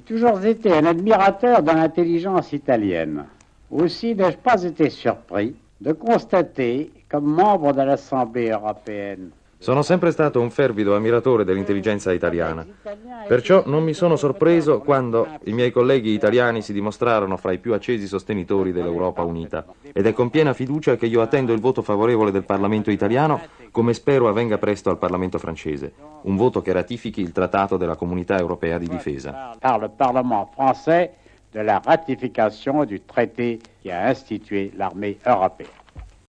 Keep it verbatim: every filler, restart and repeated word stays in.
toujours été un admirateur de l'intelligence italienne. Aussi n'ai-je pas été surpris de constater, comme membre de l'Assemblée européenne. Sono sempre stato un fervido ammiratore dell'intelligenza italiana. Perciò non mi sono sorpreso quando i miei colleghi italiani si dimostrarono fra i più accesi sostenitori dell'Europa unita. Ed è con piena fiducia che io attendo il voto favorevole del Parlamento italiano, come spero avvenga presto al Parlamento francese. Un voto che ratifichi il Trattato della Comunità Europea di Difesa. Par le Parlement français de la ratification du traité qui a institué l'armée européenne.